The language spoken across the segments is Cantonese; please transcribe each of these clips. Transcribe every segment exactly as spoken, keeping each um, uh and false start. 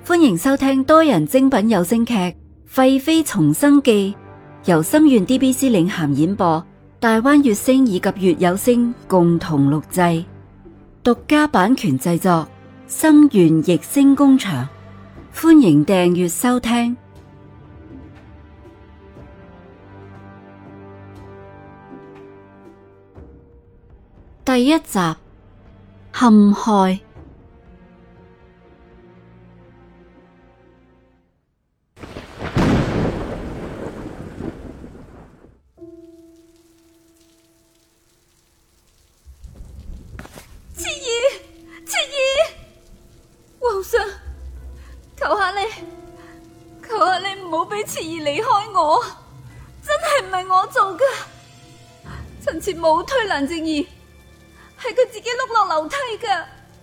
歡迎收聽多人精品有聲劇《廢妃重生記》，由心願 D B C 領銜演播，大灣月星以及月有聲共同錄製，獨家版權製作，心願逸聲工場。歡迎訂閱收聽。第一集，陷害。 切兒，切兒，皇上，求下你，求下你唔好俾切兒離開我，真係唔係我做噶，臣妾冇推蘭靜兒，係佢自己碌落樓梯噶。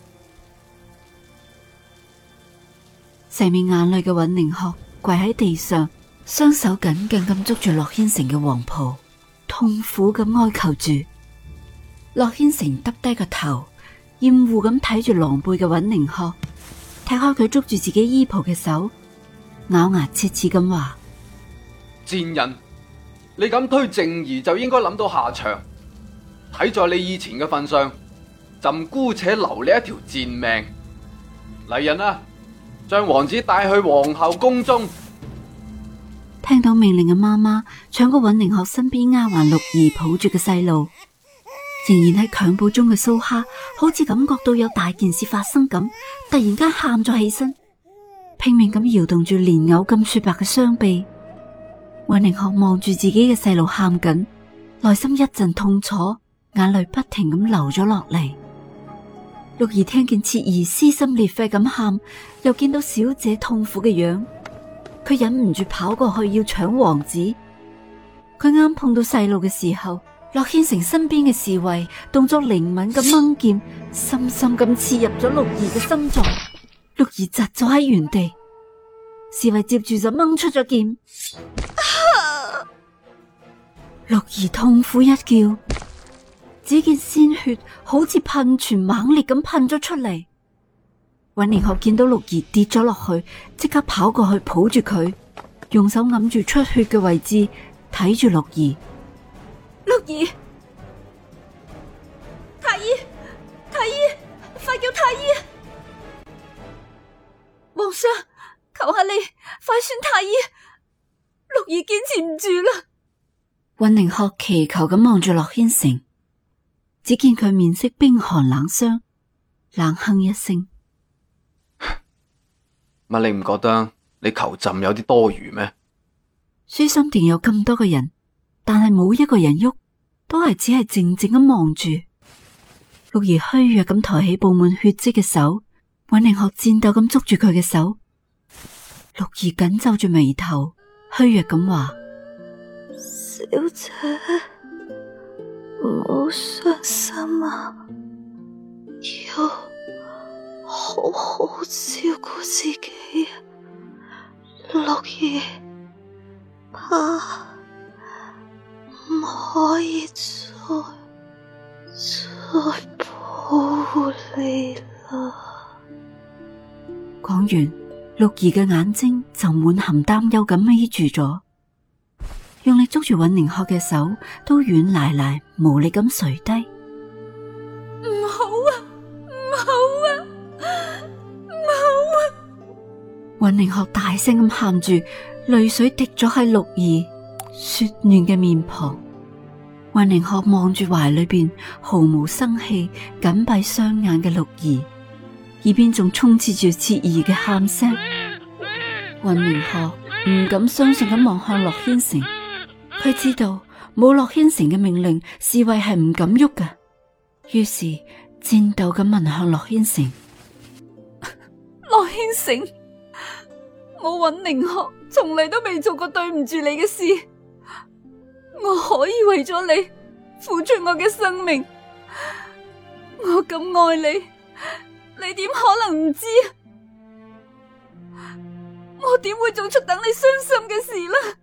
成面眼淚嘅尹寧鶴跪喺地上，雙手緊緊咁捉住駱軒成嘅黃袍，痛苦咁哀求住。駱軒成耷低個頭，厭惡咁睇住狼狽嘅尹寧鶴，踢開佢捉住自己衣袍嘅手，咬牙切齒咁話： 賤人，你咁推靜兒就應該諗到下場。睇在你以前嘅份上，朕姑且留你一條賤命。嚟人啊，將王子帶去皇后宮中。 聽到命令嘅媽媽搶過尹寧鶴身邊丫鬟六兒抱住嘅細路，仍然喺襁褓中嘅蘇蝦好似感覺到有大件事發生咁，突然間喊咗起身，拼命咁搖動住蓮藕咁雪白嘅雙臂。尹寧鶴望住自己嘅細路喊緊，內心一陣痛楚，眼淚不停咁流咗落嚟。六兒聽見切兒撕心裂肺咁喊，又見到小姐痛苦嘅樣，佢忍唔住跑過去要搶王子。佢啱碰到細路嘅時候，駱軒成身邊嘅侍衛動作靈敏咁掹劍，深深咁刺入咗六兒嘅心臟。六兒窒咗喺原地，侍衛接住就掹出咗劍。啊、六兒痛苦一叫，只見鮮血好似噴泉猛烈咁噴咗出嚟。尹寧鶴見到六兒跌咗落去，即刻跑過去抱住佢，用手揞住出血嘅位置，睇住六兒。 六兒，太醫，太醫，快叫太醫！皇上，求下你，快宣太醫！六兒堅持唔住啦！ 尹寧鶴祈求咁望住駱軒成，只見佢面色冰寒冷霜，冷哼一聲： 乜你唔覺得你求朕有啲多餘咩？ 舒心殿有咁多個人，但係冇一個人喐，都係只係靜靜咁望住。六兒虛弱咁抬起布滿血跡嘅手，尹寧鶴顫抖咁捉住佢嘅手。六兒緊皺住眉頭，虛弱咁話： 小姐，唔好傷心啊，要好好照顧自己啊。六兒，怕唔可以再再抱你啦。 講完，六兒嘅眼睛就滿含擔憂咁眯住咗，用力捉住尹寧鶴嘅手都軟賴賴無力咁垂低。 唔好啊，唔好啊，唔好啊！ 尹寧鶴大聲咁喊住，淚水滴咗喺六兒雪嫩嘅面龐。尹寧鶴望住懷裏邊毫無生氣、緊閉雙眼嘅六兒，耳邊仲充斥住切兒嘅喊聲。尹寧鶴唔敢相信咁望向駱軒成，佢知道冇駱軒成嘅命令，侍衛係唔敢喐㗎。於是顫抖咁問向駱軒成： 駱軒成，我尹寧鶴從嚟都未做過對唔住你嘅事，我可以為咗你付出我嘅生命，我咁愛你，你點可能唔知？我點會做出等你傷心嘅事呢？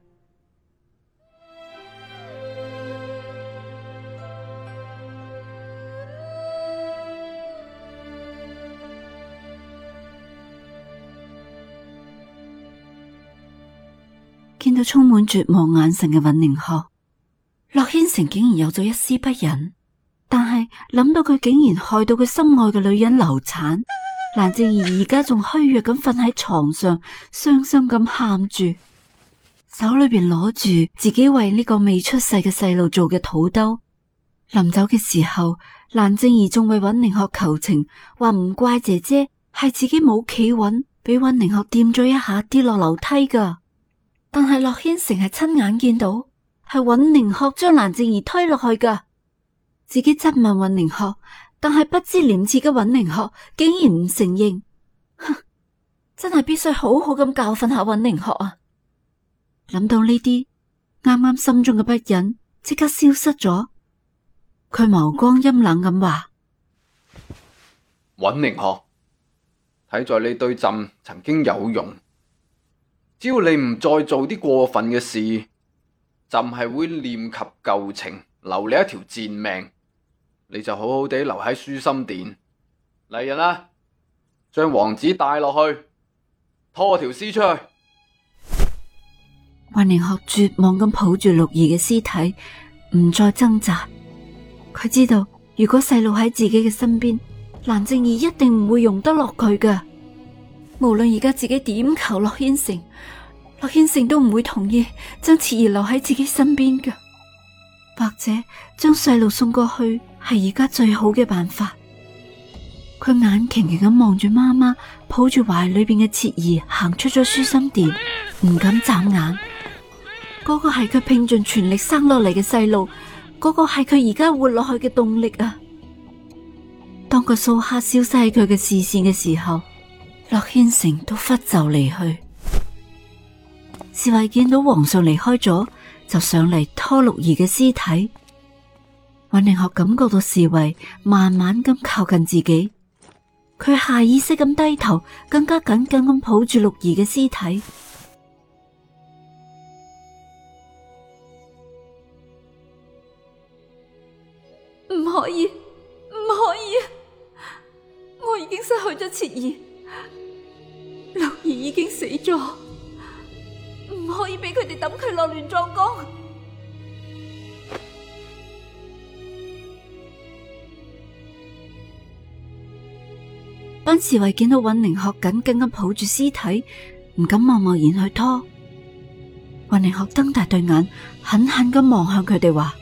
見到充滿絕望眼神嘅尹寧鶴，駱軒成竟然有咗一絲不忍。但係諗到佢竟然害到佢心愛嘅女人流產，蘭靜兒而家仲虛弱咁瞓喺床上，傷心咁喊住，手裏邊攞住自己為呢個未出世嘅細路做嘅土兜。臨走嘅時候，蘭靜兒仲為尹寧鶴求情，話唔怪姐姐，係自己冇企穩，俾尹寧鶴掂咗一下跌落樓梯噶。但係駱軒成係親眼見到，係尹寧鶴將蘭靜兒推落去噶。自己質問尹寧鶴，但係不知廉恥嘅尹寧鶴竟然唔承認，哼，真係必須好好咁教訓下尹寧鶴啊！諗到呢啲，啱啱心中嘅不忍即刻消失咗。佢眸光陰冷咁話： 尹寧鶴，睇在你對朕曾經有用，只要你唔再做啲過分嘅事，朕係會念及舊情，留你一條賤命。你就好好地留喺舒心殿。嚟人啊，將王子帶落去，拖條屍出去。 尹寧鶴絕望咁抱住六兒嘅屍體，唔再掙扎。佢知道如果細路喺自己嘅身邊，蘭靜兒一定唔會容得落佢噶。無論而家自己點求駱軒成，駱軒成都唔會同意將徹兒留喺自己身邊噶。或者將細路送過去係而家最好嘅辦法。佢眼擎擎咁望住媽媽抱住懷裏邊嘅徹兒行出咗舒心殿，唔敢眨眼。嗰個係佢拼盡全力生落嚟嘅細路，嗰個係佢而家活落去嘅動力啊！當個蘇蝦消失喺佢嘅視線嘅時候，駱軒成都忽就離去。侍衛見到皇上離開咗，就上嚟拖六兒嘅屍體。尹寧鶴感覺到侍衛慢慢咁靠近自己，佢下意識咁低頭，更加緊緊咁抱住六兒嘅屍體。 唔可以，唔可以！我已經失去咗徹兒，六兒已經死咗，唔可以俾佢哋抌佢落亂葬崗。 班侍衛見到尹寧鶴緊緊咁抱住屍體，唔敢貿貿然去拖。尹寧鶴瞪大對眼，狠狠咁望向佢哋話：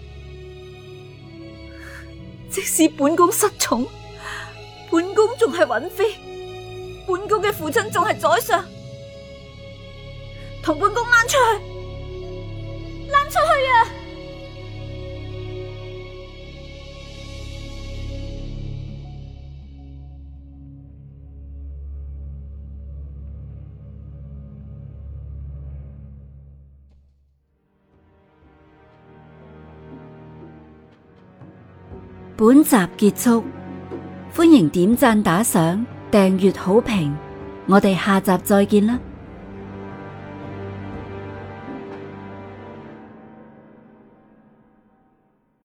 即使本宮失寵，本宮仲係允妃，本宮嘅父親仲係宰相，同本宮攋出去，攋出去啊！ 本集結束，歡迎點讚打賞、訂閱好評，我哋下集再見啦！